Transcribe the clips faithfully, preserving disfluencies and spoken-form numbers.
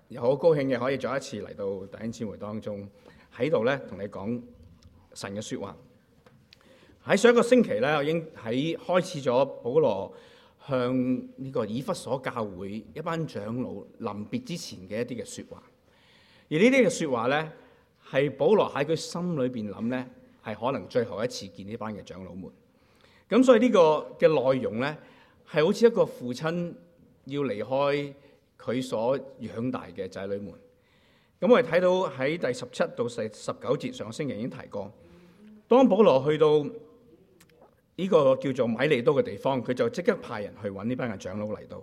又好高興嘅可以再一次嚟到弟兄姊妹當中，喺度咧同你講神嘅說話。喺上一個星期咧，我已經喺開始咗保羅向呢個以弗所教會一班長老臨別之前嘅一啲嘅說話。而呢啲嘅說話咧，係保羅喺佢心裏邊諗咧，係可能最後一次見呢班嘅長老們。咁所以呢個嘅內容咧，係好似一個父親要離開佢所養大嘅仔女們。咁我哋睇到喺第十七到十十九節，上個星期已經提過，當保羅去到呢個叫做米利都嘅地方，佢就即刻派人去揾呢班嘅長老嚟到。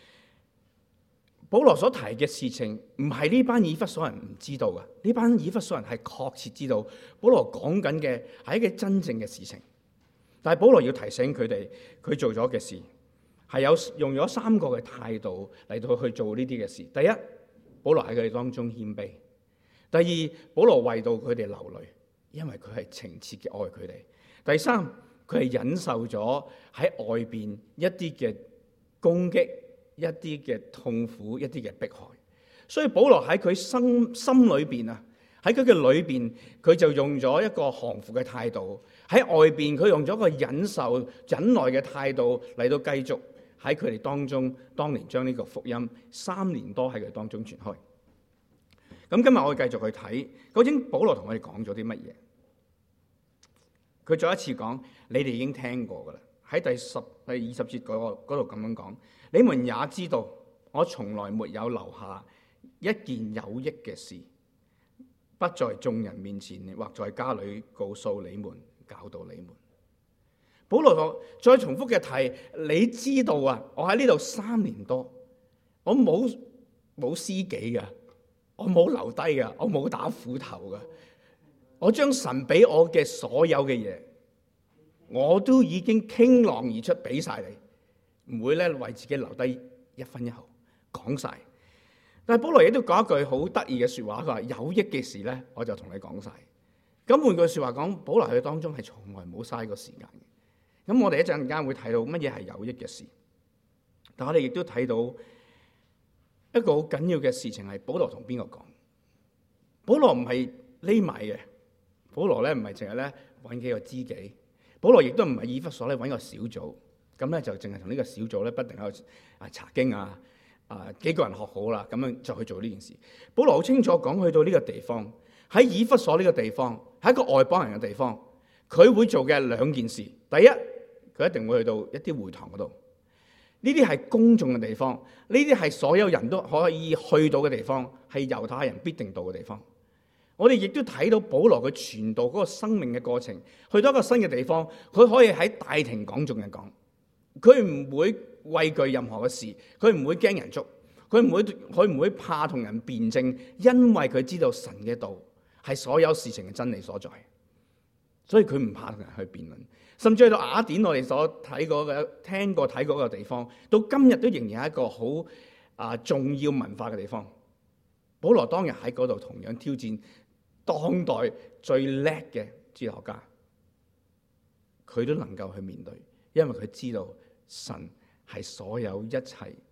保羅所提嘅事情唔係呢班以弗所人唔知道嘅，呢班以弗所人係確切知道保羅講緊嘅係一個真正嘅事情。但係保羅要提醒佢哋，佢做咗嘅事係有用咗三個嘅態度嚟到去做呢啲嘅事。第一，保羅喺佢哋當中謙卑；第二，保羅為到佢哋流淚，因為佢係情切嘅愛佢哋；第三，佢係忍受咗喺外邊一啲嘅攻擊、一啲嘅痛苦、一啲嘅迫害。所以保羅喺佢心心裏邊啊，喺佢嘅裏邊，佢就用咗一個降服嘅態度；喺外邊，佢用咗一個忍受、忍耐嘅態度嚟到繼續喺佢哋當中，當年將呢個福音三年多喺佢當中傳開。咁今日我會繼續去睇，究竟保羅同我哋講咗啲乜嘢？佢再一次講，你哋已經聽過噶啦。喺第十、第二十節嗰度咁樣講，你們也知道，我從來沒有留下一件有益嘅事，不在眾人面前或在家裏告訴你們、教導你們。保羅再重複嘅提，你知道啊，我喺呢度三年多，我冇冇私己嘅，我冇留低嘅，我冇打斧頭嘅，我將神俾我嘅所有嘅嘢，我都已經傾囊而出俾晒你，唔會咧為自己留低一分一毫，講晒。但係保羅亦都講一句好得意嘅說話，佢話有益嘅事咧，我就同你講晒。咁換句說話講，保羅喺當中係從來冇嘥過時間嘅。咁我哋一陣間會睇到乜嘢係有益嘅事，但我哋亦都睇到一個好緊要嘅事情係保羅同邊個講？保羅唔係匿埋嘅，保羅咧唔係淨係咧揾幾個知己，保羅亦都唔係以弗所咧揾個小組，咁咧就淨係同呢個小組咧不停喺度啊查經啊啊幾個人學好啦，咁樣就去做呢件事。保羅好清楚講，去到呢個地方，喺以弗所呢個地方係一個外邦人嘅地方，佢會做嘅兩件事。第一，佢一定會去到一啲會堂嗰度，呢啲係公眾嘅地方，呢啲係所有人都可以去到嘅地方，係猶太人必定到嘅地方。我哋亦都睇到保羅佢傳道嗰個生命嘅過程，去到一個新嘅地方，佢可以喺大庭廣眾嘅講，佢唔會畏懼任何嘅事，佢唔會驚人捉，佢唔會佢唔會怕同人辯證，因為佢知道神嘅道係所有事情嘅真理所在，所以佢唔怕同人去辯論。甚至去到雅典，我哋所睇過嘅、聽過、睇過嘅地方，到今日都仍然係一個好啊重要文化嘅地方。保羅當日喺嗰度同樣挑戰當代最叻嘅哲學家，佢都能夠去面對，因為佢知道神係所有一切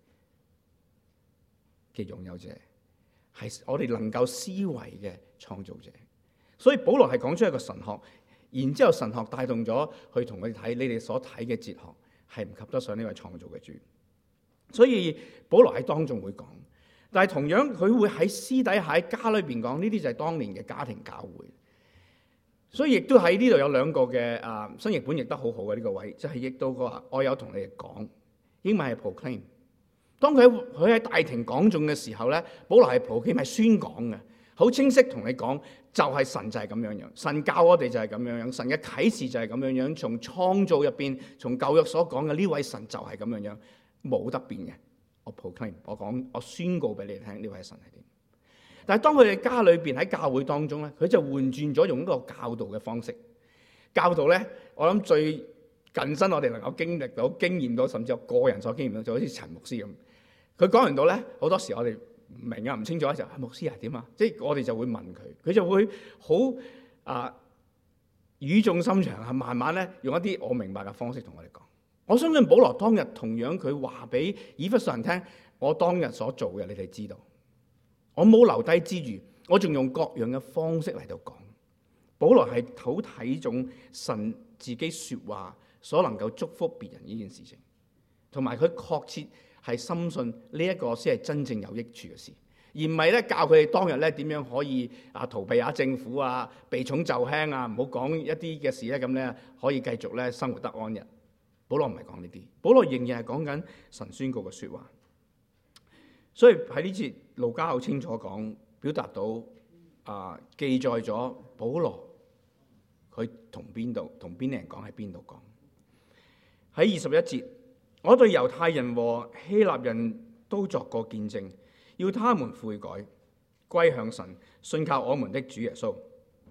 嘅擁有者，係我哋能夠思維嘅創造者。所以保羅係講出一個神學。然之後神學帶動咗去同佢哋睇，你哋所睇嘅哲學係唔及得上呢位創造嘅主。所以保羅喺當中會講，但係同樣佢會喺私底下喺家裏邊講，呢啲就係當年嘅家庭教會。所以亦都喺呢度有兩個嘅啊新譯本譯得好好嘅呢個位，就係譯到個話我有同你哋講，英文係 proclaim。當佢佢喺大庭廣眾嘅時候咧，保羅係 proclaim 係宣講嘅。好清晰同你講，就係神就係咁樣樣，神教我哋就係咁樣樣，神嘅啟示就係咁樣樣，從創造入邊，從舊約所講嘅呢位神就係咁樣樣，冇得變嘅。我 proclaim， 我講，我宣告俾你哋聽，呢位神係點。但係當佢哋家裏邊喺教會當中咧，佢就換轉咗用一個教導嘅方式。教導咧，我諗最近身我哋能夠經歷到、經驗到，甚至我個人所經驗到，就好似陳牧師咁。佢講完到咧，好多時我哋唔明啊，唔清楚嘅時候，牧師係點啊？即係我哋就會問佢，佢就會好啊語重心長啊，慢慢咧用一啲我明白嘅方式同我哋講。我相信保羅當日同樣佢話俾以弗所人聽，我當日所做嘅你哋知道， 我冇留低之餘，我仲用各樣嘅方式嚟到講。保羅係好睇重神自己說話所能夠祝福別人呢件事情，同埋佢確切係深信呢一個先係真正有益處嘅事，而唔係咧教佢哋當日咧點樣可以啊逃避下政府啊，避重就輕啊，唔好講一啲嘅事咧，咁咧可以繼續咧生活得安逸。保羅唔係講呢啲，保羅仍然係講緊神宣告嘅說話。所以喺呢節路加好清楚講，表達到啊記載咗保羅佢同邊度同邊啲人講，喺邊度講。喺二十一節，我對猶太人和希臘人都作過見證，要他們悔改，歸向神，信靠我們的主耶穌。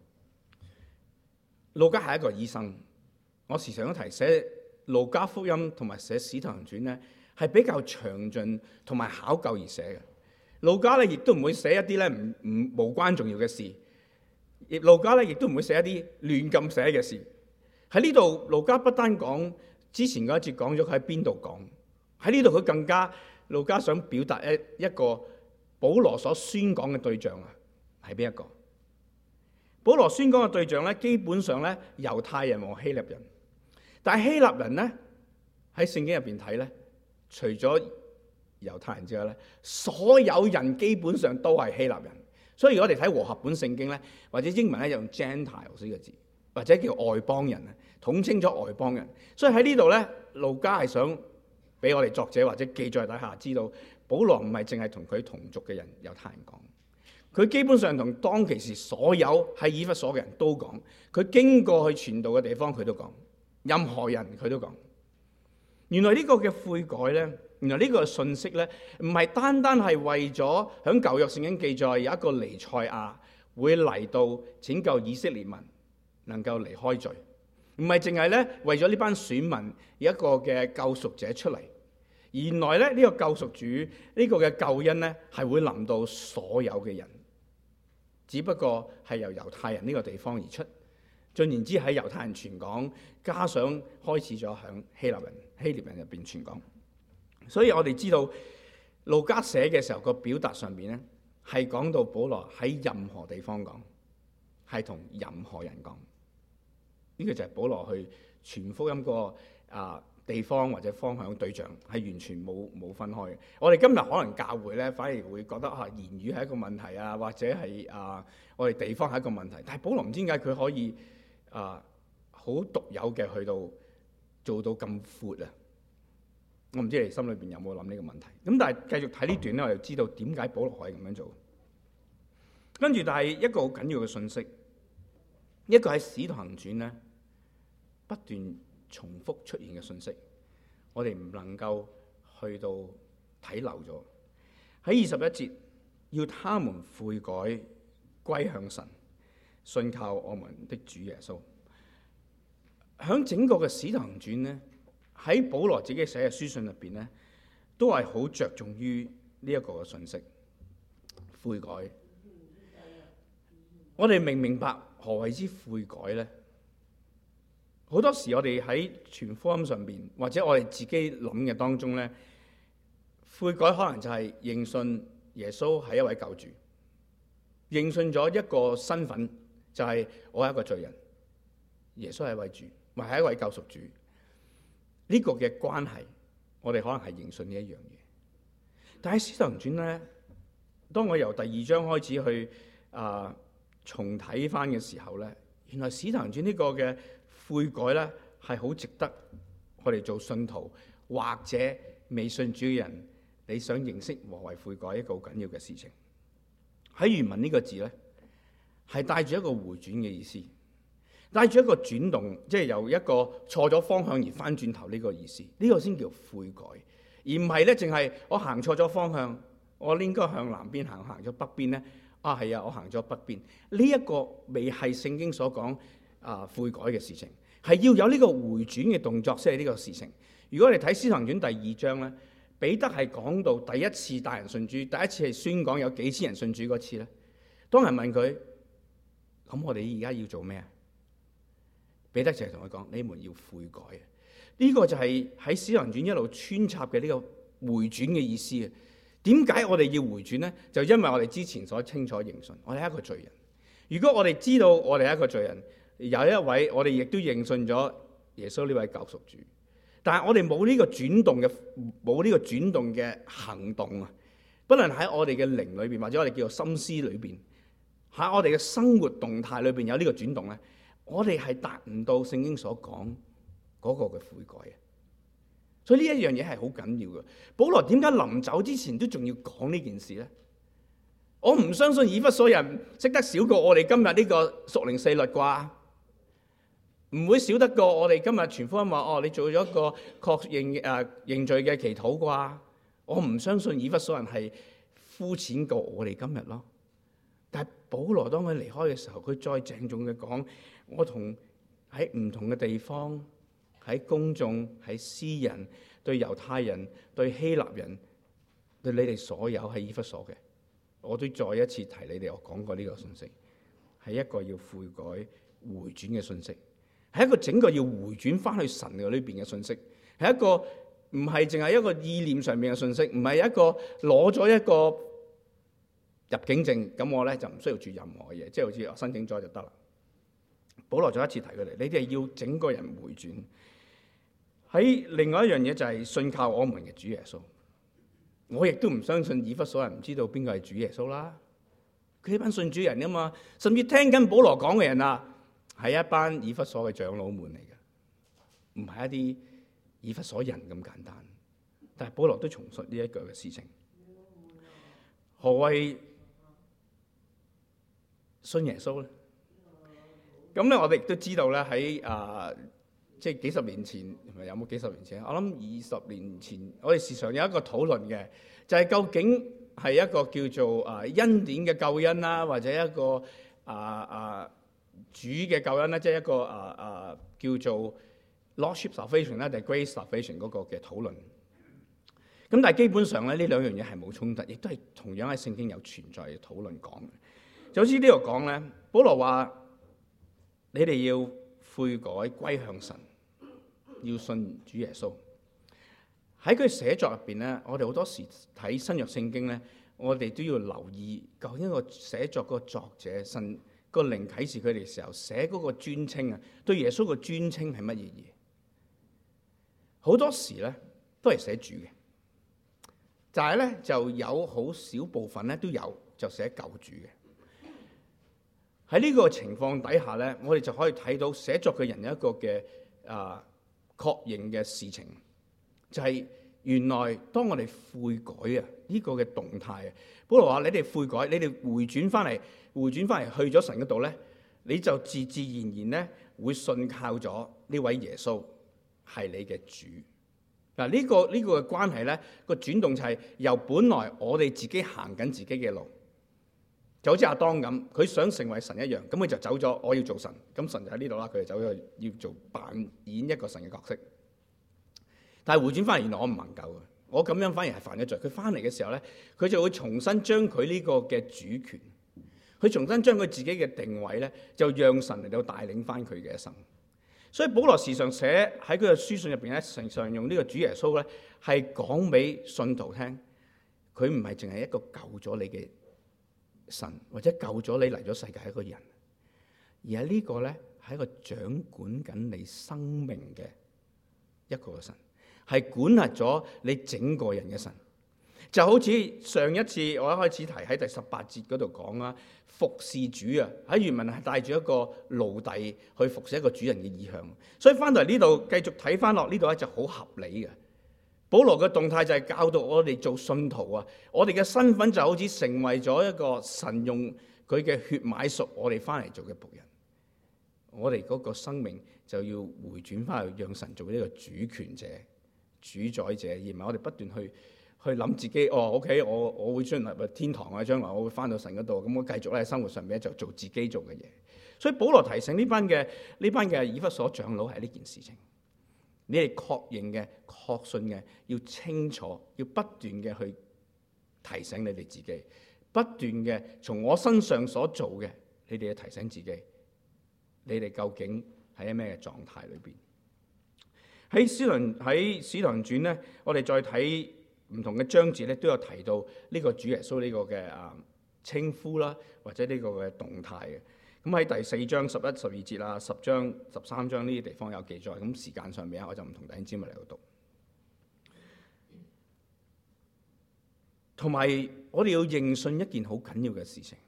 路加係一個醫生，我時常都提寫路加福音同埋寫使徒行傳咧，係比較詳盡同埋考究而寫嘅。路加咧亦都唔會寫一啲咧唔唔無關重要嘅事，而路加咧亦都唔會寫一啲亂咁寫嘅事。喺呢度，路加不單講之前嗰一節講咗佢喺邊度講，喺呢度佢更加路加想表達一一個保羅所宣講嘅對象啊，係邊一個？保羅宣講嘅對象咧，基本上咧猶太人和希臘人，但係希臘人咧喺聖經入邊睇咧，除咗猶太人之外咧，所有人基本上都係希臘人。所以如果我哋睇和合本聖經咧，或者英文咧用 Gentiles 呢個字，或者叫外邦人啊，統稱咗外邦人。所以喺呢度咧，路加係想俾我哋作者或者記載底下知道，保羅唔係淨係同佢同族嘅人猶太人講，佢基本上同當其時所有喺以弗所嘅人都講，佢經過去傳道嘅地方佢都講，任何人佢都講。原來呢個嘅悔改咧，原來呢個信息咧，唔係單單係為咗響舊約聖經記載有一個彌賽亞會嚟到拯救以色列民能夠離開罪，唔係淨係咧為咗呢班選民有一個嘅救贖者出嚟。原來咧呢個救贖主呢個嘅救恩咧係會臨到所有嘅人，只不過係由猶太人呢個地方而出。進言之喺猶太人傳講，加上開始咗響希臘人、希臘人入邊傳講。所以我哋知道路加寫嘅時候個表達上邊咧，係講到保羅喺任何地方講，係同任何人講。呢、這個就係保羅去傳福音個啊地方或者方向對象係完全冇冇分開嘅。我哋今日可能教會咧，反而會覺得啊言語係一個問題啊，或者係啊我哋地方係一個問題。但係保羅唔知點解佢可以啊好獨有嘅去到做到咁闊啊！我唔知你心裏邊有冇諗呢個問題。咁但係繼續睇呢段咧，我就知道點解保羅可以咁樣做。跟住，但係一個好緊要嘅信息，一個喺使徒行傳咧不斷重複出現嘅信息，我哋唔能夠去到睇漏咗。喺二十一節，要他們悔改，歸向神，信靠我們的主耶穌。響整個嘅使徒行傳咧，喺保羅自己寫嘅書信入邊咧，都係好着重於呢一個嘅信息，悔改。我哋明唔明白何謂之悔改咧？好多時我哋喺傳福音上邊，或者我哋自己諗嘅當中咧，悔改可能就係認信耶穌係一位救主，認信咗一個身份，就係我係一個罪人，耶穌係一位主，或係一位救贖主。呢個嘅關係，我哋可能係認信呢一樣嘢。但係使徒行傳咧，當我由第二章開始去啊、呃、重睇翻嘅時候咧，原來使徒行傳呢個嘅悔改咧係好值得我哋做信徒或者未信主嘅人，你想認識何謂悔改一個好緊要嘅事情。喺原文呢個字咧係帶住一個回轉嘅意思，帶住一個轉動，即係由一個錯咗方向而翻轉頭呢個意思。呢個先叫悔改，而唔係咧淨係我行錯咗方向，我應該向南邊行，行咗北邊咧。啊係啊，我行咗北邊。呢一個未係聖經所講啊悔改嘅事情，係要有呢個回轉嘅動作先係呢個事情。如果你睇《使徒行傳》第二章咧，彼得係講到第一次帶人信主，第一次係宣講有幾千人信主嗰次咧。當人問佢：咁我哋而家要做咩啊？彼得就係同佢講：你們要悔改啊！呢、這個就係喺《使徒行傳》一路穿插嘅呢個回轉嘅意思啊！ 點解我哋要回轉呢？就因為我哋之前所清楚認信，我哋係一個罪人。如果我哋知道我哋係一個罪人，有一位我哋亦都認信咗耶穌呢位救贖主，但係我哋冇呢個轉動嘅冇呢個轉動嘅行動啊！不論喺我哋嘅靈裏邊，或者我哋叫做心思裏邊，喺我哋嘅生活動態裏邊有呢個轉動咧，我哋係達唔到聖經所講嗰個嘅悔改嘅。所以呢一樣嘢係好緊要嘅。保羅點解臨走之前都仲要講呢件事咧？我唔相信以弗所人識得少過我哋今日呢個屬靈四律啩，唔會少得過我哋今日傳福音話哦，你做咗一個確認誒、呃、認罪嘅祈禱啩。我唔相信以弗所人係膚淺過我哋今日咯。但係保羅當佢離開嘅時候，佢再鄭重嘅講：我同喺唔同嘅地方，喺公眾、喺私人、對猶太人、對希臘人、對你哋所有喺以弗所嘅，我都再一次提你哋。我講過呢個信息，係一個要悔改回轉嘅信息，係一個整個要回轉翻去神嘅呢邊嘅信息，係一個。唔係淨係一個意念上面嘅信息，唔係一個攞咗一個入境證，咁我咧就唔需要住任何嘢，即係好似我申請咗就得啦。保羅再一次提佢哋，你哋要整個人回轉。喺另外一樣嘢就係信靠我們嘅主耶穌。我亦都唔相信以弗所人唔知道邊個係主耶穌啦。佢係班信主人啊嘛，甚至聽緊保羅講嘅人啊，係一班以弗所嘅長老們嚟嘅，唔係一啲以弗所人咁簡單。但係保羅都重述呢一句嘅事情。何謂信耶穌咧？咁咧，我哋亦都知道咧，喺啊，即係幾十年前，有冇幾十年前？我諗二十年前，我哋時常有一個討論嘅，就係、是、究竟係一個叫做啊恩典嘅救恩啦，或者一個啊啊主嘅救恩啦，即係一個啊啊叫做 Lordship Salvation 啦，定係 Grace Salvation 嗰個嘅討論。咁但係基本上咧，呢兩樣嘢係冇衝突，亦都係同樣喺聖經有存在嘅討論講嘅。就好似呢度講咧，保羅話：你哋要悔改歸向神，要信主耶穌。喺佢寫作入邊咧，我哋好多時睇新約聖經咧，我哋都要留意究竟個寫作個作者神個靈啟示佢哋嘅時候寫嗰個尊稱啊，對耶穌個尊稱係乜嘢嘢？好多時咧都係寫主嘅。但係咧，就有好少部分咧都有就寫救主嘅。喺呢個情況底下咧，我哋就可以睇到寫作嘅人有一個嘅啊確認嘅事情，就係、是、原來當我哋悔改啊呢、這個嘅動態啊，保羅話：你哋悔改，你哋回轉翻嚟，回轉翻嚟去咗神嗰度咧，你就自自然然咧會信靠咗呢位耶穌係你嘅主。嗱、這個，呢個呢個嘅關係咧，個轉動就係由本來我哋自己行緊自己嘅路，就好似亞當咁，佢想成為神一樣，咁佢就走咗，我要做神，咁神就喺呢度啦，佢就走咗要做扮演一個神嘅角色。但係回轉翻嚟，原來我唔能夠嘅，我咁樣反而係犯咗罪。佢翻嚟嘅時候咧，佢就會重新將佢呢個嘅主權，佢重新將佢自己嘅定位咧，就讓神嚟到帶領翻佢嘅一生。所以保羅時常寫喺佢嘅書信入邊咧，常常用呢個主耶穌咧，係講俾信徒聽，佢唔係淨係一個救咗你嘅神，或者救咗你嚟咗世界一個人，而係呢個咧係一個掌管緊你生命嘅一個嘅神，係管轄咗你整個人嘅神。就好似上一次我一開始提喺第十八節嗰度講啦，服侍主啊，喺原文係帶住一個奴隸去服侍一個主人嘅意向。所以翻到嚟呢度繼續睇翻落呢度咧就好合理嘅。保羅嘅動態就係教導我哋做信徒啊，我哋嘅身份就好似成為咗一個神用佢嘅血買贖我哋翻嚟做嘅僕人。我哋嗰個生命就要回轉翻去，讓神做呢個主權者、主宰者，而唔係我哋不斷去。去諗自己哦 ，OK， 我我會進入天堂啊，將來我會翻到神嗰度，咁我繼續咧喺生活上面就做自己做嘅嘢。所以保羅提醒呢班嘅呢班嘅以弗所長老係呢件事情，你哋確認嘅、確信嘅，要清楚，要不斷嘅去提醒你哋自己，不斷嘅從我身上所做嘅，你哋要提醒自己，你哋究竟喺咩嘅狀態裏邊？喺使徒喺使徒行傳咧，我哋再睇。 唔同嘅章節咧都有提到呢個主耶穌呢個嘅啊稱呼啦，或者呢個嘅動態嘅。咁喺第四章十一、十二節啦，十章、十三章呢啲地方有記載。咁時間上面我就唔同弟兄姊妹嚟到讀。同埋我哋要認信一件好緊要嘅事情，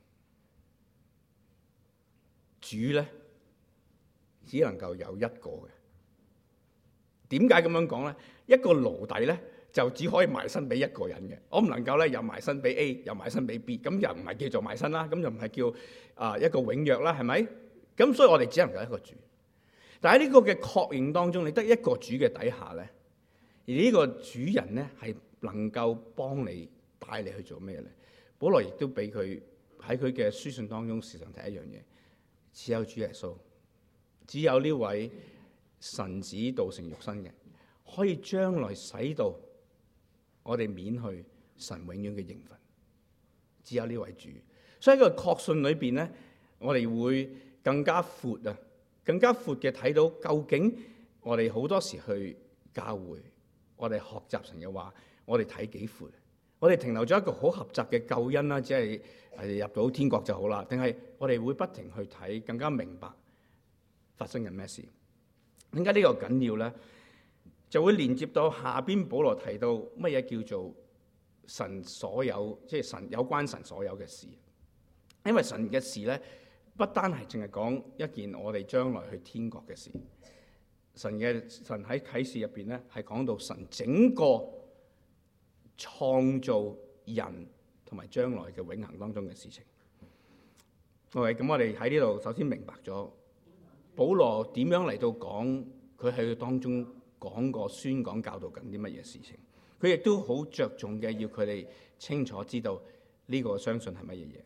主咧只能夠有一個嘅。點解咁樣講咧？一個奴隸咧就只可以賣身俾一個人嘅，我唔能夠咧又賣身俾 A 又賣身俾 B， 咁又唔係叫做賣身啦，咁又唔係叫啊一個永約啦，係咪？咁所以我哋只能夠一個主。但喺呢個嘅確認當中，你得一個主嘅底下咧，而呢個主人咧係能夠幫你帶你去做咩咧？保羅亦都俾佢喺佢嘅書信當中時常提一樣嘢，只有主耶穌，只有呢位神子道成肉身嘅，可以將來使到我哋免去神永遠嘅刑罰，只有呢位主。所以喺個確信裏邊咧，我哋會更加闊啊，更加闊嘅睇到究竟我哋好多時去教會，我哋學習神嘅話，我哋睇幾闊？我哋停留咗一個好狹窄嘅救恩啦，即係入到天國就好啦，定係我哋會不停去睇，更加明白發生緊咩事？點解呢個緊要咧？就會連接到下邊保羅提到乜嘢叫做神所有，即係神有關神所有嘅事。因為神嘅事咧，不單係淨係講一件我哋將來去天國嘅事。神嘅神喺啟示入邊咧，係講到神整個創造人同埋將來嘅永恆當中嘅事情。OK，咁我哋喺呢度首先明白咗保羅點樣嚟到講佢喺當中講過宣講教導緊啲乜嘢事情。佢亦都好着重嘅要佢哋清楚知道呢個相信係乜嘢嘢。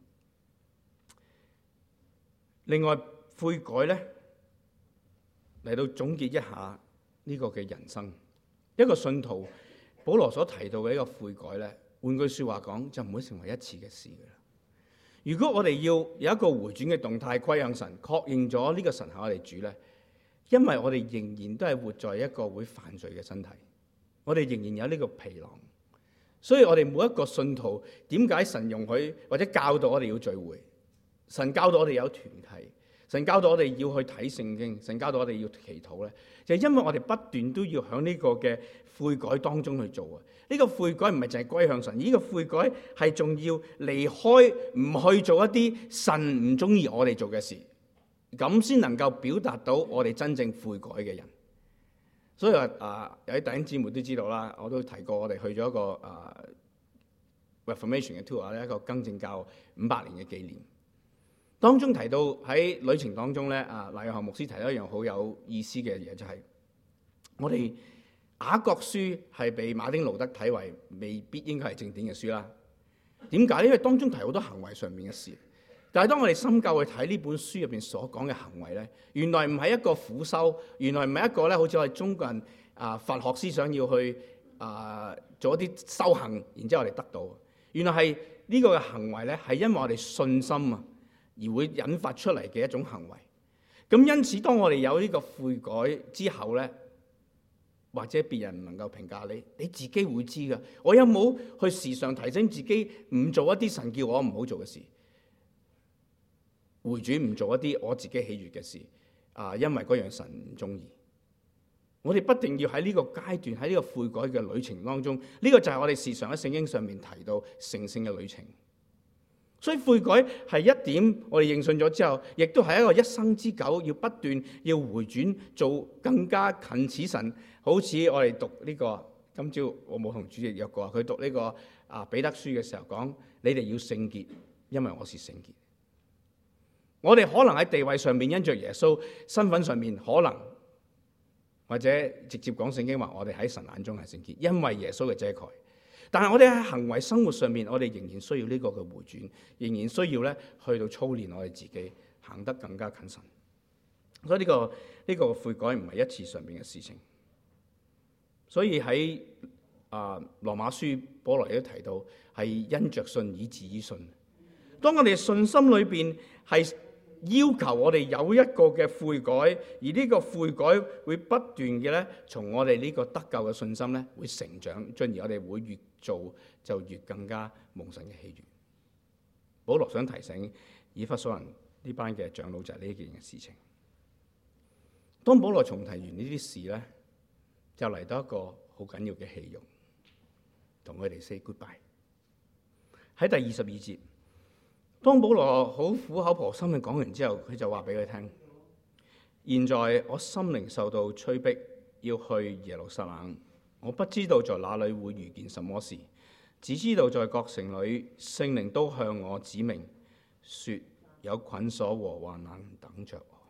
另外悔改咧嚟到總結一下呢個嘅人生，一個信徒保羅所提到嘅一個悔改咧，換句說話講就唔會成為一次嘅事噶啦。如果我哋要有一個回轉嘅動態歸向神，確認咗呢個神係我哋主咧，因為我哋仍然都係活在一個會犯罪嘅身體，我哋仍然有呢個皮囊，所以我哋每一個信徒，點解神容許或者教導我哋要聚會？神教導我哋有團契，神教導我哋要去睇聖經，神教導我哋要祈禱咧，就係因為我哋不斷都要喺呢個嘅悔改當中去做啊！呢個悔改唔係淨係歸向神，呢個悔改係仲要離開，唔去做一啲神唔中意我哋做嘅事，咁先能夠表達到我哋真正悔改嘅人。所以話啊，有啲弟兄姊妹都知道啦，我都提過，我哋去咗一個啊 Reformation 嘅 tour 咧，一個更正教五百年嘅紀念。當中提到喺旅程當中咧，啊賴約翰牧師提到一樣好有意思嘅嘢，就係、是、我哋雅各書係被馬丁路德睇為未必應該係正典嘅書啦。點解？因為當中提好多行為上面嘅事。但係當我哋深究去睇呢本書入邊所講嘅行為咧，原來唔係一個苦修，原來唔係一個咧，好似我哋中國人啊佛學思想要去啊做一啲修行，然之後我哋得到。原來係呢個嘅行為咧，係因為我哋信心啊，而會引發出嚟嘅一種行為。咁因此，當我哋有呢個悔改之後咧，或者別人唔能夠評價你，你自己會知㗎。我有冇去時常提醒自己唔做一啲神叫我唔好做嘅事，回轉唔做一啲我自己喜悅嘅事啊？因為嗰樣神唔中意。我哋不定要喺呢個階段，喺呢個悔改嘅旅程當中，呢個就係我哋時常喺聖經上面提到成聖嘅旅程。所以悔改係一點，我哋認信咗之後，亦都係一個一生之久，要不斷要回轉，做更加近似神。好似我哋讀呢個，今朝我冇同主席約過，佢讀呢個啊彼得書嘅時候講：你哋要聖潔，因為我是聖潔。我哋可能喺地位上面因着耶穌，身份上面可能或者直接講聖經話，我哋喺神眼中係聖潔，因為耶穌嘅遮蓋。但係我哋喺行為生活上面，我哋仍然需要呢個嘅回轉，仍然需要咧去到操練我哋自己，行得更加近神。所以呢、這個呢、這個悔改唔係一次上面嘅事情。所以喺啊羅馬書保羅亦都提到，係因着信以致以信。當我哋信心裏邊係要求我哋有一個嘅悔改，而呢個悔改會不斷嘅咧，從我哋呢個得救嘅信心咧，會成長，進而我哋會越做就越更加蒙神嘅喜悅。保羅想提醒以弗所人呢班嘅長老就係呢件嘅事情。當保羅重提完呢啲事咧，就嚟到一個好緊要嘅戲肉，同佢哋 say goodbye。喺第二十二節，當保羅好苦口婆心嘅講完之後，佢就話俾佢聽：現在我心靈受到催逼，要去耶路撒冷。我不知道在哪裏會遇見什麼事，只知道在各城裏聖靈都向我指明，說有捆鎖和患難等着我。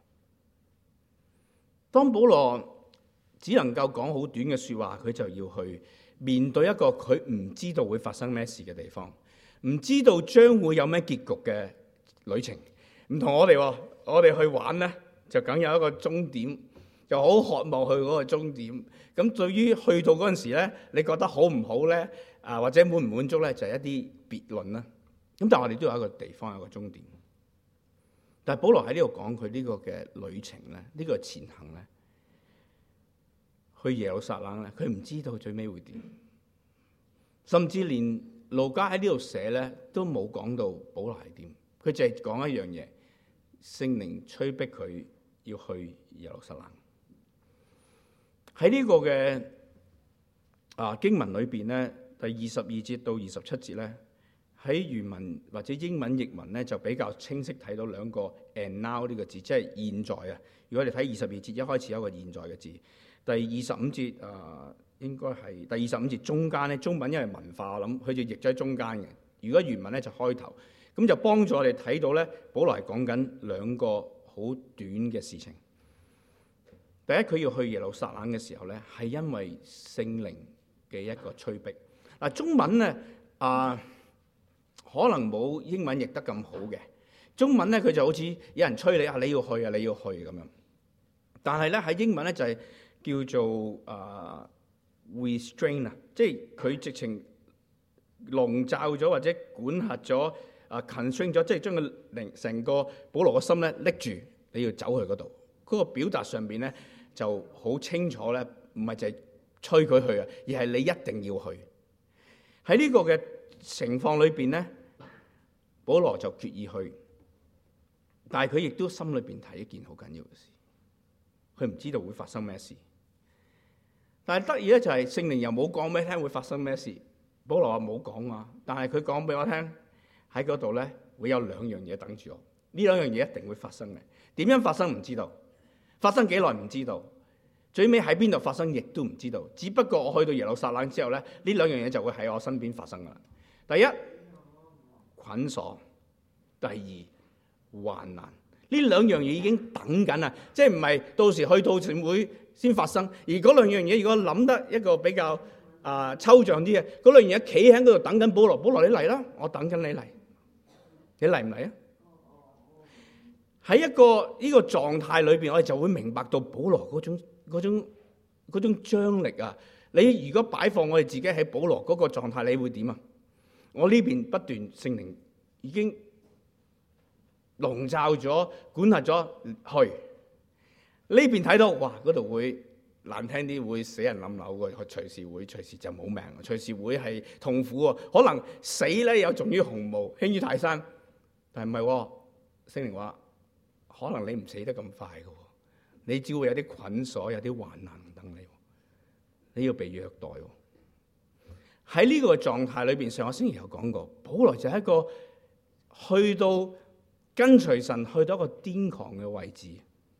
當保羅只能夠講好短嘅說話，佢就要去面對一個佢唔知道會發生咩事嘅地方，唔知道將會有咩結局嘅旅程。唔同我哋，我哋去玩呢，就梗有一個終點，就好渴望去嗰個終點。咁對於去到嗰陣時呢，你覺得好唔好呢？啊，或者滿唔滿足呢？就係一啲別論啦。咁但係我哋都有一個地方，有一個終點。但係保羅喺呢度講佢呢個嘅旅程咧，呢個前行咧，去耶路撒冷咧，佢唔知道最尾會點，甚至連路加喺呢度寫咧都冇講到保羅係點，佢淨係講一樣嘢，聖靈催逼佢要去耶路撒冷。喺呢個嘅啊經文裏邊咧，第二十二節到二十七節咧。喺原文或者英文譯文咧，就比較清晰睇到兩個 and now 呢個字，即係現在啊。如果你睇二十二節一開始有一個現在嘅字，第二十五節啊、呃，應該係第二十五節中間咧，中文因為文化，我諗佢就譯咗喺中間嘅。如果原文咧就開頭，咁就幫助我哋睇到咧，保羅係講緊兩個好短嘅事情。第一，佢要去耶路撒冷嘅時候咧，係因為聖靈嘅一個催逼。嗱，中文咧啊。呃可能冇英文譯得咁好嘅，中文咧佢就好似有人催你啊，你要去啊，你要去咁樣。但係咧喺英文咧就係叫做啊、uh, restrain 啊，即係佢直情籠罩咗或者管轄咗啊 constrain 咗，即係將個靈成個保羅嘅心咧拎住，你要走去嗰度。嗰、那個表達上邊咧就好清楚咧，唔係就係催佢去啊，而係你一定要去。喺呢個嘅情況裏邊咧，保羅就決意去，但係佢亦都心裏邊睇一件好緊要嘅事，佢唔知道會發生咩事。但係得意咧就係聖靈又冇講俾你聽會發生咩事，保羅話冇講啊，但係佢講俾我聽喺嗰度咧會有兩樣嘢等住我，呢兩樣嘢一定會發生嘅。點樣發生唔知道，發生幾耐唔知道，最尾喺邊度發生亦都唔知道。只不過我去到耶路撒冷之後咧，呢兩樣嘢就會喺我身邊發生噶啦。第一，捆鎖；第二，患難。呢兩樣嘢已經等緊啦，即係唔係到時去到全會先發生。而嗰兩樣嘢，如果諗得一個比較啊、呃、抽象啲嘅，嗰兩樣嘢企喺嗰度等緊保羅，保羅你嚟啦，我等緊你嚟，你嚟唔嚟啊？喺一個呢、這個狀態裏邊，我哋就會明白到保羅嗰種嗰種嗰種張力啊！你如果擺放我哋自己喺保羅嗰個狀態，你會點啊？我呢邊不斷聖靈已經籠罩咗、管轄咗去，呢邊睇到哇，嗰度會難聽啲，會死人冧樓嘅，隨時會隨時就冇命，隨時會係痛苦喎。可能死咧有重於鴻毛，輕於泰山，但係唔係喎？聖靈話可能你唔死得咁快嘅，你只會有啲捆鎖，有啲患難等你，你要被虐待。喺呢個狀態裏邊，上個星期有講過，保羅就係一個去到跟隨神，去到一個癲狂嘅位置。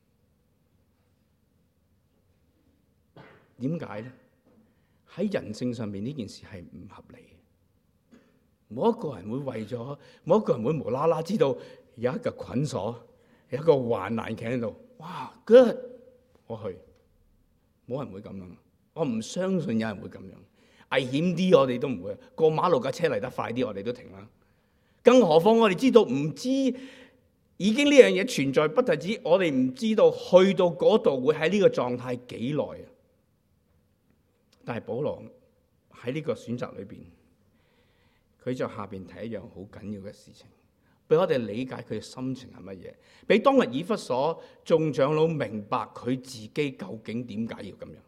點解咧？喺人性上面呢件事係唔合理嘅。冇一個人會為咗，冇一個人會無啦啦知道有一個捆鎖，有一個患難企喺度。哇 ，good， 我去，冇人會咁樣。我唔相信有人會咁樣。危險啲，我哋都唔會過馬路，架車嚟得快啲，我哋都停啦。更何況我哋知道唔知已經呢樣嘢存在，不特止我哋唔知道去到嗰度會喺呢個狀態幾耐啊！但係保羅喺呢個選擇裏邊，佢就下邊睇一樣好緊要嘅事情。 俾我哋理解佢嘅心情係乜嘢，俾當日以弗所眾長老明白佢自己究竟點解要咁樣。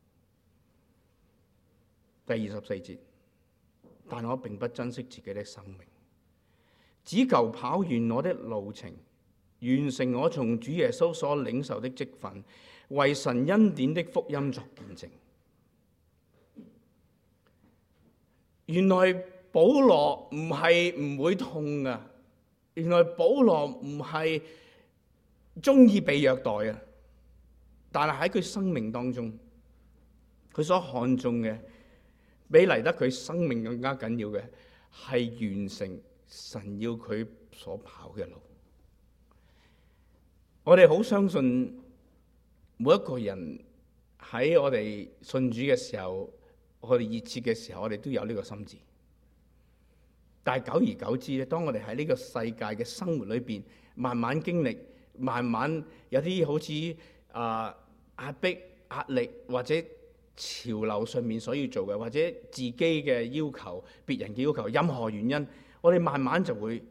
第二十四節，但我並不珍惜自己的生命，只求跑完我的路程，完成我從主耶穌所領受的職分，為神恩典的福音作見證。原來保羅唔係唔會痛啊，原來保羅唔係中意被虐待啊，但係喺佢生命當中，佢所看重嘅，比嚟得佢生命更加緊要嘅，係完成神要佢所跑嘅路。我哋好相信每一個人喺我哋信主嘅時候，我哋熱切嘅時候，我哋都有呢個心志。但係久而久之咧，當我哋喺呢個世界嘅生活裏邊，慢慢經歷，慢慢有啲好似啊壓迫、壓力或者潮流上面所要做嘅，或者自己嘅要求、別人嘅要求，任何原因，我哋慢慢就會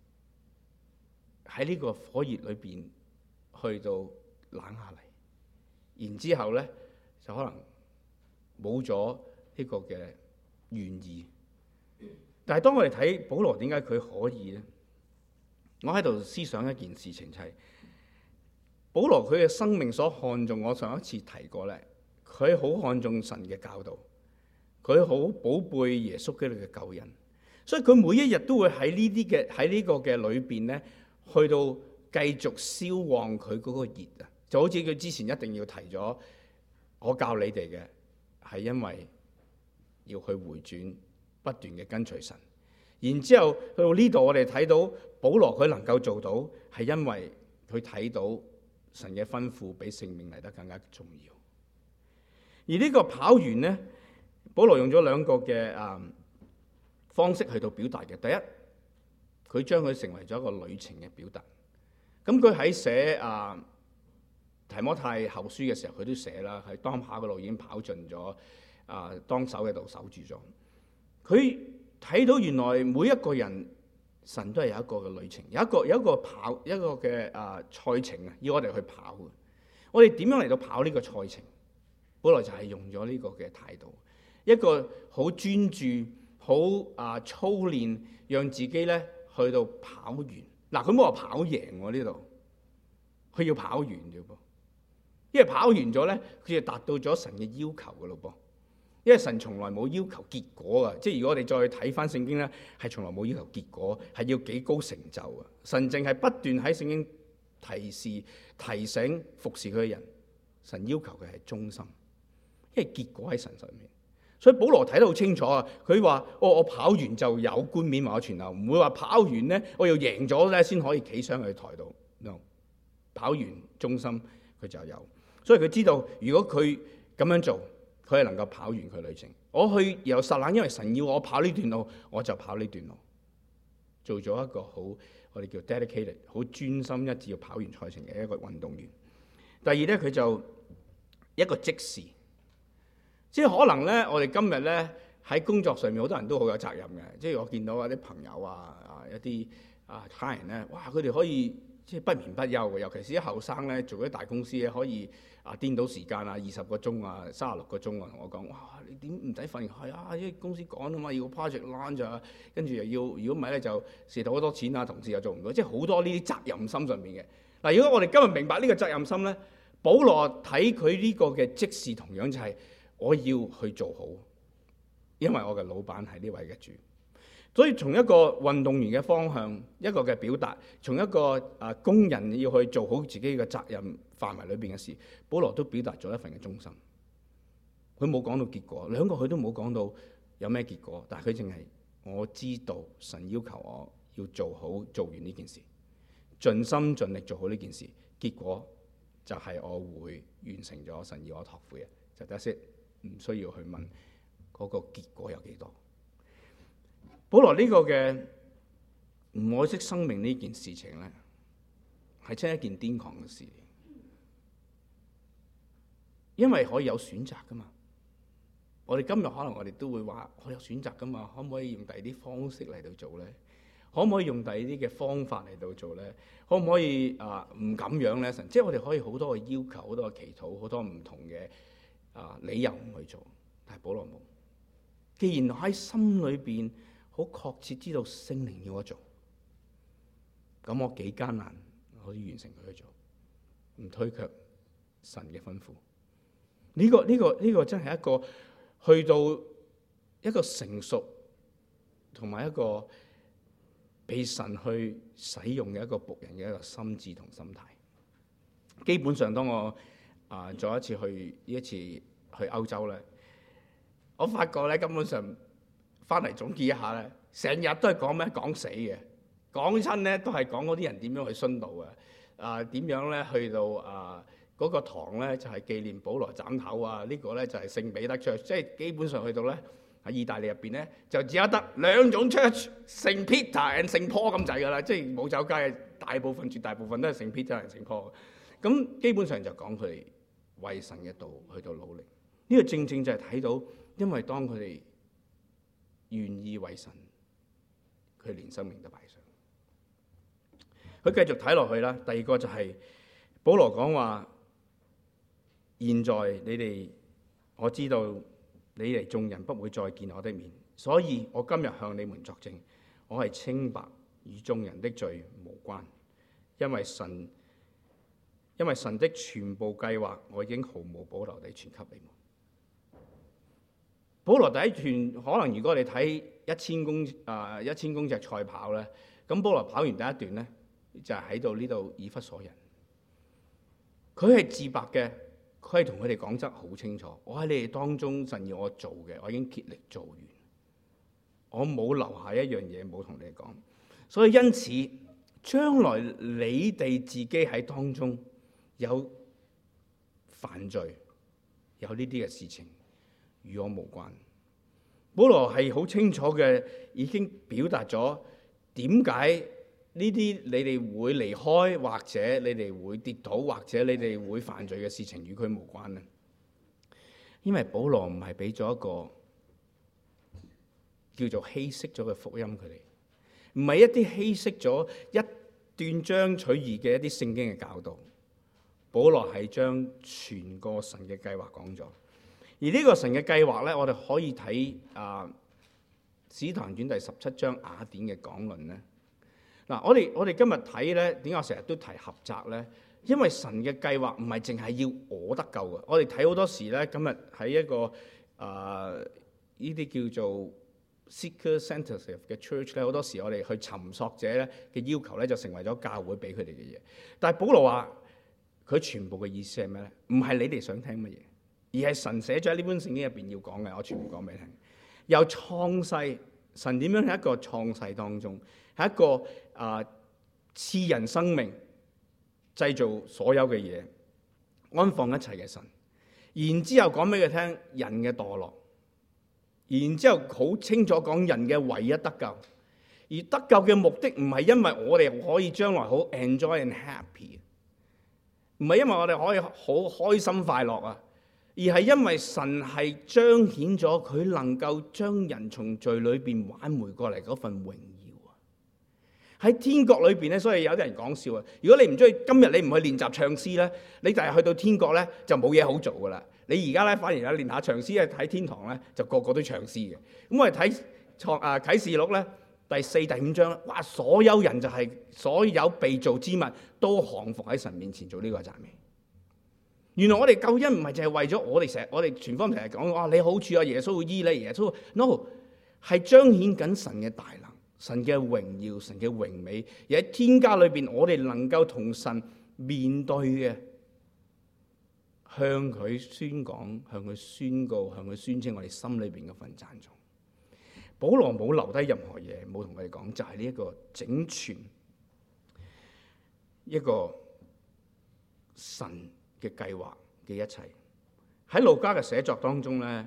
喺呢個火熱裏邊去到冷下嚟，然之後咧就可能冇咗呢個嘅願意。但係當我哋睇保羅點解佢可以咧？我喺度思想一件事情，就係保羅佢嘅生命所看重，我上一次提過咧，佢好看重神嘅教導，佢好寶貝耶穌基督嘅救恩，所以佢每一日都會喺呢啲嘅喺呢個嘅裏邊咧，去到繼續燒旺佢嗰個熱啊！就好似佢之前一定要提咗，我教你哋嘅係因為要去回轉，不斷嘅跟隨神。然之後去到呢度，我哋睇到保羅佢能夠做到，係因為佢睇到神嘅吩咐比性命嚟得更加重要。而呢個跑完呢，保羅用咗兩個嘅啊方式去到表達嘅。第一，佢將佢成為咗一個旅程嘅表達。咁佢喺寫啊提摩太後書嘅時候，佢都寫啦，喺當跑嘅路已經跑盡咗，啊當守嘅度守住咗。佢睇到原來每一個人神都係有一個嘅旅程，有一個有一個跑一個嘅啊賽程啊，要我哋去跑嘅。我哋點樣嚟到跑呢個賽程？本來就係用咗呢個嘅態度，一個好專注、好啊操練，讓自己咧去到跑完。嗱，佢冇話跑贏喎呢度，佢要跑完啫噃。因為跑完咗咧，佢就達到咗神嘅要求嘅咯噃。因為神從來冇要求結果啊，即係如果我哋再睇翻聖經咧，係從來冇要求結果，係要幾高成就啊！神淨係不斷喺聖經提示、提醒、服侍佢嘅人。神要求嘅係忠心，因為結果喺神上面。所以保羅睇得好清楚啊！佢話：我我跑完就有冠冕或者傳流，唔會話跑完咧，我要贏咗咧先可以企上去台度。No， 跑完忠心佢就有。所以佢知道，如果佢咁樣做，佢係能夠跑完佢旅程。我去由撒冷，因為神要我跑呢段路，我就跑呢段路，做咗一個好我哋叫 dedicated， 好專心一致要跑完賽程嘅一個運動員。第二咧，佢就一個即時，即係可能咧，我哋今日咧喺工作上面好多人都好有責任嘅。即係我見到啊啲朋友啊啊一啲啊客人咧，哇佢哋可以即係不眠不休嘅，尤其是啲後生咧做啲大公司咧可以。啊！顛倒時間啊，二十個鐘啊，三十六個鐘啊，同我講，哇！你點唔使瞓？係啊，因為公司趕啊嘛，要 project launch 啊，跟住又要，如果唔係咧就蝕到好多錢啊，同事又做唔到，即係好多呢啲責任心上面嘅。嗱，如果我哋今日明白呢個責任心咧，保羅睇佢呢個嘅即時同樣就係我要去做好，因為我嘅老闆係呢位嘅主。所以從一個運動員嘅方向，一個嘅表達，從一個啊工人要去做好自己嘅責任範圍裏邊嘅事，保羅都表達咗一份嘅忠心。佢冇講到結果，兩個佢都冇講到有咩結果，但係佢淨係我知道神要求我要做好做完呢件事，盡心盡力做好呢件事，結果就係我會完成咗神要我託付嘅，就得先，唔需要去問嗰個結果有幾多。保羅呢個嘅唔愛惜生命呢件事情咧，係真係一件癲狂嘅事，因為可以有選擇噶嘛。我哋今日可能我哋都會話我有選擇噶嘛，可唔可以用第二啲方式嚟到做咧？ 可唔可以用第二啲嘅方法嚟到做咧？可唔可以啊唔咁樣咧？神，即係我哋可以好多嘅要求，好多嘅祈禱，好多唔同嘅啊理由唔去做，但係保羅冇。既然喺心裏邊好確切知道聖靈要我做，咁我幾艱難可以完成佢去做，唔推卻神嘅吩咐。呢個呢個呢個真係一個去到一個成熟同埋一個被神去使用嘅一個僕人嘅一個心智同心態。基本上當我啊再一次去呢一次去歐洲咧，我發覺咧根本上翻嚟總結一下咧，成日都係講咩講死嘅，講親咧都係講嗰啲人點樣去殉道嘅，啊點樣咧去到啊嗰個堂咧就係紀念保羅斬頭啊，呢個咧就係聖彼得 church， 即係基本上去到咧喺意大利入邊咧就只有得兩種 church， 聖 Peter and 聖 Paul 咁滯噶啦，即係冇走街嘅大部分絕大部分都係聖 Peter and 聖 Paul， 咁基本上就講佢哋為神嘅道去到努力。呢個正正就係睇到，因為當佢哋願意為神，佢連生命都擺上。佢繼續睇落去啦。第二個就係、是、保羅講話，現在你哋我知道你哋眾人不會再見我的面，所以我今日向你們作證，我係清白，與眾人的罪無關，因為神因為神的全部計劃，我已經毫無保留地傳給你們。保羅第一段可能如果你睇一千公啊一千公尺賽跑咧，咁保羅跑完第一段咧就係喺度呢度以弗所人，佢係自白嘅，佢係同佢哋講得好清楚，我喺你哋當中神要我做嘅，我已經竭力做完，我冇留下一樣嘢冇同你哋講，所以因此將來你哋自己喺當中有犯罪，有呢啲嘅事情，與我無關。保羅係好清楚嘅，已經表達咗點解呢啲你哋會離開，或者你哋會跌倒，或者你哋會犯罪嘅事情與佢無關呢？因為保羅唔係俾咗一個叫做稀釋咗嘅福音佢哋，唔係一啲稀釋咗一斷章取義嘅一啲聖經嘅教導。保羅係將全個神嘅計劃講咗。而呢個神嘅計劃咧，我哋可以睇啊《使徒行傳》第十七章雅典嘅講論咧。嗱，我哋我哋今日睇咧，點解我成日都提合集咧？因為神嘅計劃唔係淨係要我得救嘅。我哋睇好多時咧，今日喺一個啊呢啲叫做 seeker-centered 嘅 church 咧，好多時我哋去尋索者咧嘅要求咧，就成為咗教會俾佢哋嘅嘢。但係保羅話佢全部嘅意思係咩咧？唔係你哋想聽乜嘢，而係神寫咗喺呢本聖經入邊要講嘅，我全部講俾你聽。由創世，神點樣喺一個創世當中，係一個啊賜人生命、製造所有嘅嘢、安放一切嘅神。然之後講俾佢聽人嘅墮落，然之後好清楚講人嘅唯一得救。而得救嘅目的唔係因為我哋可以將來好 enjoy and happy， 唔係因為我哋可以好開心快樂啊。而係因為神係彰顯咗佢能夠將人從罪裏邊挽回過嚟嗰份榮耀啊！喺天國裏邊咧，所以有啲人講笑啊！如果你唔中意今日你唔去練習唱詩咧，你就係去到天國咧就冇嘢好做噶啦。你而家咧反而咧練下唱詩咧，喺天堂咧就個個都唱詩嘅。咁我哋睇創啊啟示錄咧第四、第五章，哇！所有人就係、是、所有被造之物都降服喺神面前做呢個讚美。原來我哋救恩唔係淨係為咗我哋成日，我哋全方成日講哇你好處啊，耶穌會醫你，耶穌 no 係彰顯緊神嘅大能、神嘅榮耀、神嘅榮美，而喺天家裏邊，我哋能夠同神面對嘅，向佢宣講、向佢宣告、向佢宣稱我哋心裏邊嗰份讚頌。保羅冇留低任何嘢，冇同佢哋講，就係呢一個整全一個神嘅計劃嘅一切。喺路加嘅寫作當中咧，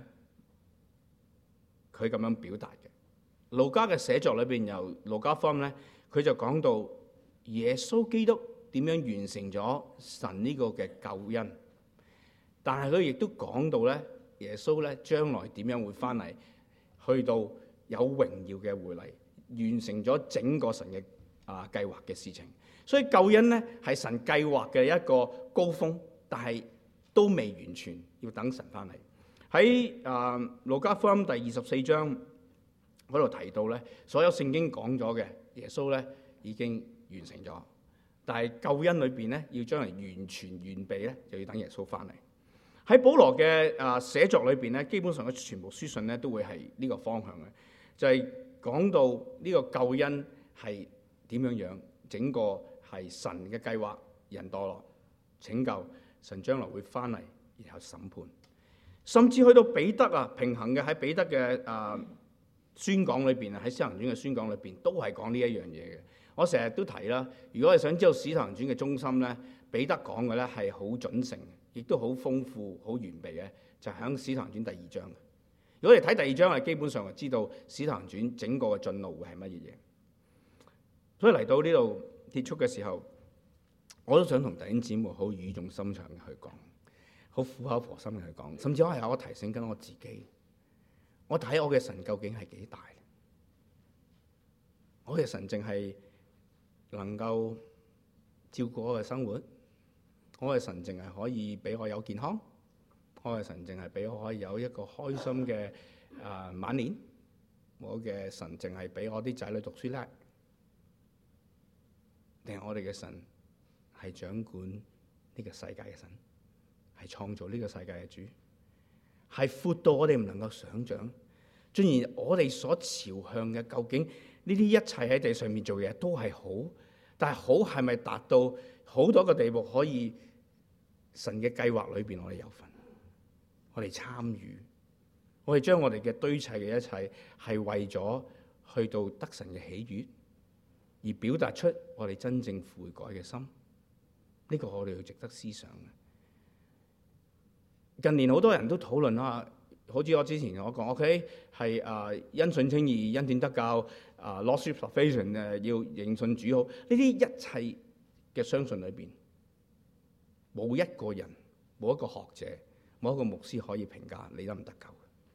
佢咁樣表達嘅。路加嘅寫作裏邊，由路加福音咧，佢就講到耶穌基督點樣完成咗神呢個嘅救恩，但係佢亦都講到咧，耶穌咧將來點樣會翻嚟，去到有榮耀嘅回嚟， 完成咗整個神嘅啊計劃嘅事情。所以救恩咧係神計劃嘅一個高峰，但係都未完全，要等神翻嚟。喺啊路加福音第二十四章嗰度提到咧，所有聖經講咗嘅耶穌咧已經完成咗，但係救恩裏邊咧要將嚟完全完備咧，就要等耶穌翻嚟。喺保羅嘅啊寫作裏邊咧，基本上嘅全部書信咧都會係呢個方向嘅，就係、是、講到呢個救恩係點樣樣，整個係神嘅計劃，人墮落拯救，神將來會翻嚟，然後審判，甚至去到彼得啊，平衡嘅喺彼得嘅啊宣講裏邊啊，喺使徒行傳嘅宣講裏邊都係講呢一樣嘢嘅。我成日都提啦，如果你想知道使徒行傳嘅中心咧，彼得講嘅咧係好準繩，亦都好豐富、好完備嘅，就係喺使徒行傳第二章。如果你睇第二章，係基本上就知道使徒行傳整個嘅進路會係乜嘢嘢。所以嚟到呢度結束嘅時候，我都想同弟兄姊妹好語重心長嘅去講，好苦口婆心嘅去講，甚至我係我提醒緊我自己，我睇我嘅神究竟係幾大？我嘅神淨係能夠照顧我嘅生活，我嘅神淨係可以俾我有健康，我嘅神淨係俾我可以有一個開心嘅啊、呃、晚年，我嘅神淨係俾我啲仔女讀書叻，定係我哋嘅神係掌管呢個世界嘅神，係創造呢個世界嘅主，係闊到我哋唔能夠想象。雖然我哋所朝向嘅究竟呢啲一切喺地上面做嘅嘢都係好，但係好係咪達到好多個地步可以神嘅計劃裏邊我哋有份，我哋參與，我哋將我哋嘅堆砌嘅一切係為咗去到得神嘅喜悅，而表達出我哋真正悔改嘅心，呢個我哋要值得思想嘅。近年好多人都討論啦，好似我之前我講 ，OK 係啊，因信稱義，因點得救啊 ，Lordship salvation 誒，要認信主好。呢啲一切嘅相信裏邊，冇一個人，冇一個學者，冇一個牧師可以評價你得唔得救。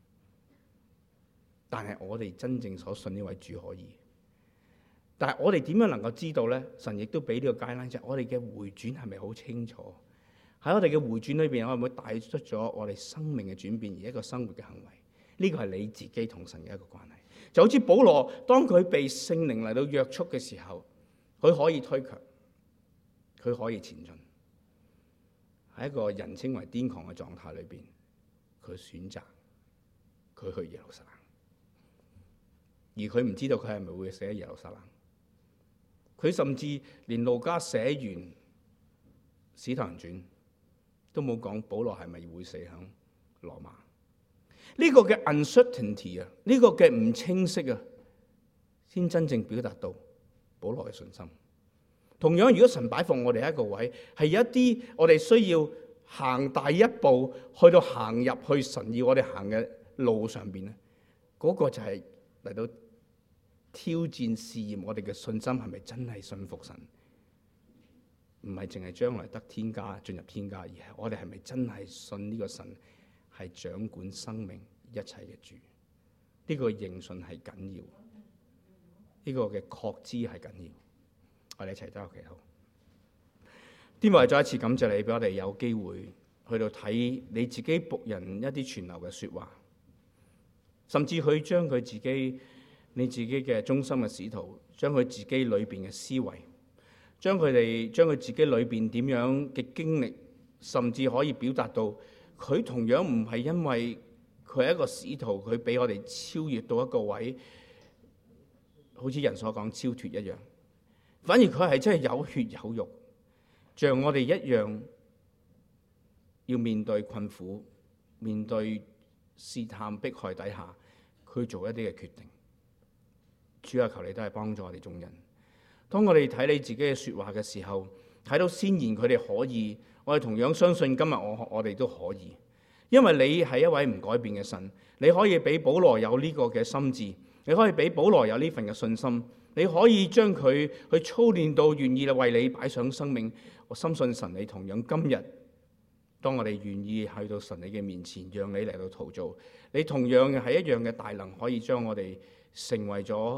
但係我哋真正所信呢位主可以。但係我哋點樣能夠知道咧？神亦都俾呢個 guideline，就係我哋嘅回轉係咪好清楚？喺我哋嘅回轉裏邊，我會唔會帶出咗我哋生命嘅轉變，而一個生活嘅行為？呢個係你自己同神嘅一個關係。就好似保羅，當佢被聖靈嚟到約束嘅時候，佢可以推卻，佢可以前進。喺一個人稱為癲狂嘅狀態裏邊，佢選擇佢去耶路撒冷，而佢唔知道佢係咪會死喺耶路撒冷。佢甚至連路加寫完《使徒行傳》都冇講保羅係咪會死喺羅馬。呢、這個嘅 uncertainty 啊，呢個嘅唔清晰啊，先真正表達到保羅嘅信心。同樣，如果神擺放我哋喺一個位，係有一啲我哋需要行第一步，去到行入去神要我哋行嘅路上邊咧，嗰、那個就係嚟到挑戰試驗我哋嘅信心係咪真係信服神？唔係淨係將來得天家進入天家，而係我哋係咪真係信呢個神係掌管生命一切嘅主？呢、這個認信係緊要，呢、這個嘅確知係緊要。我哋一齊都有祈禱。天父，再一次感謝你，俾我哋有機會去到睇你自己僕人一啲傳流嘅說話，甚至去將佢自己。你自己嘅忠心嘅使徒，將佢自己裏邊嘅思維，將佢哋將佢自己裏邊點樣嘅經歷，甚至可以表達到佢同樣唔係因為佢係一個使徒，佢俾我哋超越到一個位，好似人所講超脫一樣，反而佢係真係有血有肉，像我哋一樣要面對困苦，面對試探迫害底下，佢做一啲嘅決定。主啊，求你都係幫助我哋眾人。當我哋睇你自己嘅說話嘅時候，睇到先言佢哋可以，我哋同樣相信今日我我哋都可以，因為你係一位唔改變嘅神。你可以俾保羅有呢個嘅心志，你可以俾保羅有呢份嘅信心，你可以將佢去操練到願意為你擺上生命。我深信神，你同樣今日，當我哋願意去到神你嘅面前，讓你嚟到陶造，你同樣係一樣嘅大能，可以將我哋成為咗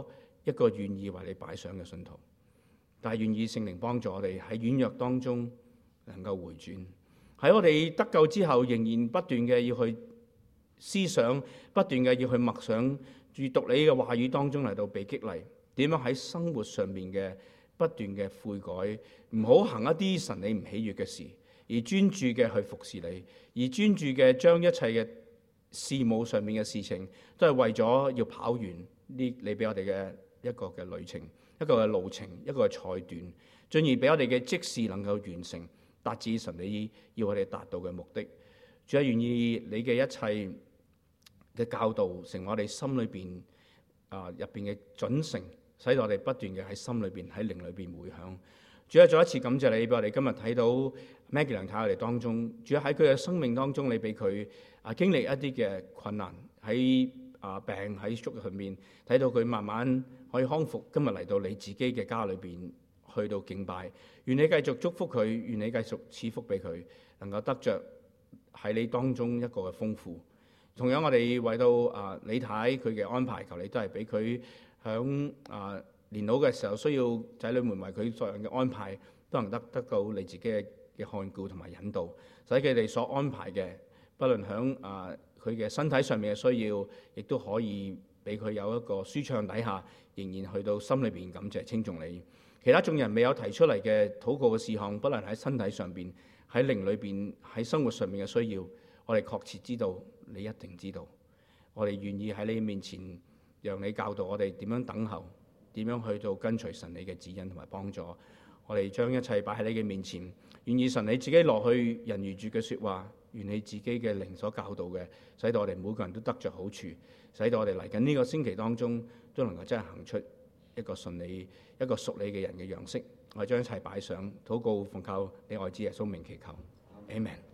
一個願意為你擺上嘅信徒，但係願意聖靈幫助我哋喺軟弱當中能夠回轉，喺我哋得救之後仍然不斷嘅要去思想，不斷嘅要去默想，閱讀你嘅話語當中嚟到被激勵，點樣喺生活上面嘅不斷嘅悔改，唔好行一啲神你唔喜悅嘅事，而專注嘅去服侍你，而專注嘅將一切嘅事務上面嘅事情都係為咗要跑完呢你俾我哋嘅一個嘅旅程，一個嘅路程，一個嘅賽段，進而俾我哋嘅職事能夠完成，達至神你要我哋達到嘅目的。主啊，願意你嘅一切嘅教導成為我哋心裏邊啊入邊嘅準繩，使到我哋不斷嘅喺心裏邊喺靈裏邊回響。主啊，再一次感謝你俾我哋今日睇到 Maggie 梁太我哋當中，主啊，喺佢嘅生命當中，你俾佢啊經歷一啲嘅困難，喺啊病喺宿入面睇到佢慢慢可以康復，今日嚟到你自己嘅家裏邊去到敬拜，願你繼續祝福佢，願你繼續賜福俾佢，能夠得着喺你當中一個嘅豐富。同樣我哋為到啊李太佢嘅安排，求你都係俾佢響啊年老嘅時候需要仔女們為佢作樣嘅安排，都能得得到你自己嘅嘅看顧同埋引導，使佢哋所安排嘅，不論響啊佢嘅身體上面嘅需要，亦都可以俾佢有一個舒暢底下，仍然去到心裏邊感謝稱頌你。其他眾人未有提出嚟嘅禱告嘅事項，不論喺身體上邊、喺靈裏邊、喺生活上面嘅需要，我哋確切知道你一定知道。我哋願意喺你面前，讓你教導我哋點樣等候，點樣去到跟隨神你嘅指引同埋幫助。我哋將一切擺喺你嘅面前，願意神你自己落去人如住嘅説話，願你自己嘅靈所教導嘅，使到我哋每個人都得着好處，使到我哋嚟緊呢個星期當中都能夠真係行出一個順利、一個屬你嘅人嘅樣式。我哋將一切擺上，禱告奉靠你愛子耶穌名祈求，阿們。